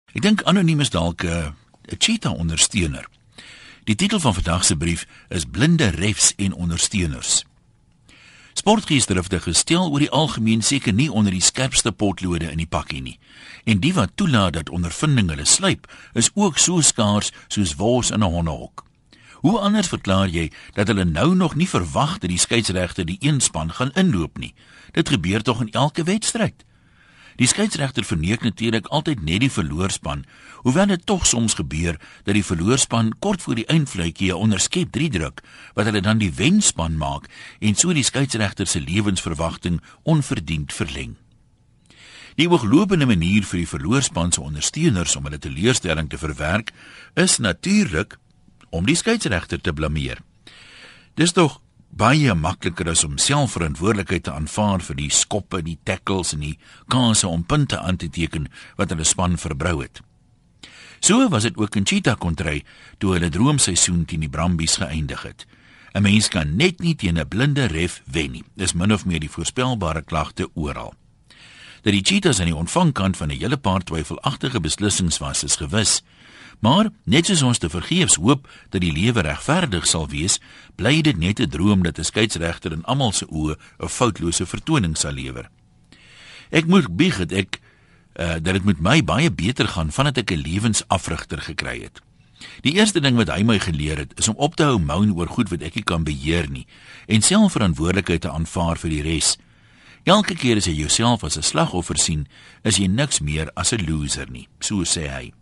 Ek dink anoniem is dalk 'n cheetah-ondersteuner. Die titel van vandag se brief is Blinde refs en ondersteuners. Sportgeesdriftige gestel oor die algemeen seker nie onder die skerpste potlode in die pakkie nie. En die wat toelaat dat ondervinding hulle sluip, is ook so skaars soos wors in 'n hondehok. Hoe anders verklaar jy dat hulle nou nog nie verwag dat die skeieregter die een span gaan inloop nie? Dit gebeur tog in elke wedstryd. Die skeieregter verneek natuurlik altyd net die verloorspan, hoewel dit tog soms gebeur dat die verloorspan kort voor die eindfluitjie 'n onderskep 3 druk, wat hulle dan die wenspan maak en so die skeieregter se lewensverwagting onverdiend verleng. Die ooglopende manier vir die verloorspan se ondersteuners om hulle teleurstelling te verwerk, is natuurlik om die skeieregter te blameer. Dis tog baie makliker as om self verantwoordelikheid te aanvaar vir die skoppe, die tackles en die kanse om punte aan te teken wat hulle span verbrou het. So was dit ook in Cheetah kontry toe hulle droomseisoen teen die Brumbies geëindig het. 'n Mens kan net nie teen 'n blinde ref wen nie. Dis min of meer die voorspelbare klagte oral. Dat die Cheetahs aan die ontvangkant van 'n hele paar twyfelagtige beslissings was, is gewis. Maar, net soos ons te vergeefs hoop dat die lewe regverdig sal wees, bly dit net 'n droom dat 'n skeieregter in almal se oë 'n foutlose vertoning sal lewer. Ek moet bieg dat dit met my baie beter gaan vandat ek 'n lewensafrigter gekry het. Die eerste ding wat hy my geleer het, is om op te hou moan oor goed wat ek nie kan beheer nie, en self verantwoordelikheid te aanvaar vir die res. Elke keer as jy jouself as 'n slagoffer sien, is jy niks meer as 'n loser nie, so sê hy.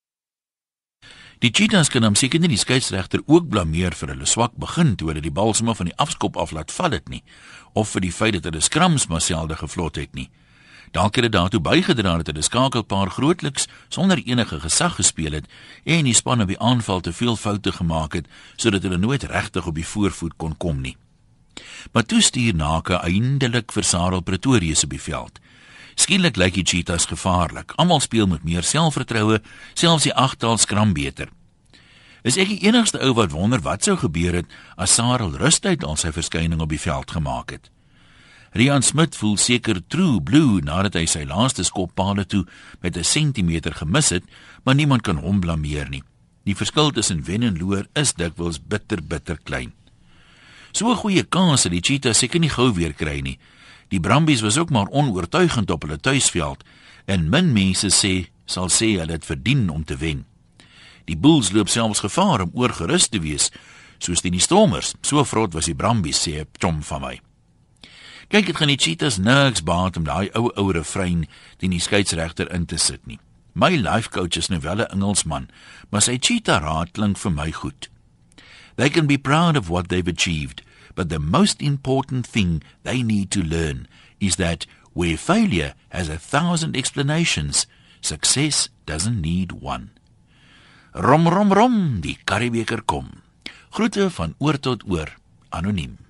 Die Cheetahs kan hom seker nie die skeieregter ook blameer vir hulle swak begin toe hulle die bal sommer van die afskop af laat val het nie, of vir die feit dat hulle skrams maar selde gevlot het nie. Dalk het dit daartoe bygedra dat hulle skakelpaar grootliks sonder enige gesag gespeel het en die span op die aanval te veel foute gemaak het, sodat hulle nooit regtig op die voorvoet kon kom nie. Maar toe stuur Nake eindelik vir Sarel Pretorius op die veld. Skielik lyk die Cheetahs gevaarlik. Almal speel met meer selfvertroue, selfs die agtal skram beter. Is ek die enigste ou wat wonder wat sou gebeur het as Sarel rustig al sy verskyning op die veld gemaak het? Rian Smit voel seker true blue nadat hy sy laaste skoppale toe met 'n sentimeter gemis het, maar niemand kan hom blameer nie. Die verskil tussen wen en loor is dikwels bitter klein. So 'n goeie kans het die Cheetahs seker nie gou weer kry nie. Die Brumbies was ook maar onoortuigend op hulle tuisveld en min mense sal sê hulle het verdien om te wen. Die Bulls loop selfs gevaar om oorgerus te wees, soos die Stormers. So vrot was die Brumbies, sê 'n chom van my. Kyk, dit gaan die Cheetahs niks baat om daai ou refrein teen die skeieregter in te sit nie. My life coach is nou wel 'n Engelsman, maar sy Cheetah raad klink vir my goed. They can be proud of what they've achieved, but the most important thing they need to learn is that where failure has 1,000 explanations, success doesn't need one. Rom, rom, rom, die karrebeker kom. Groete van oor tot oor, anoniem.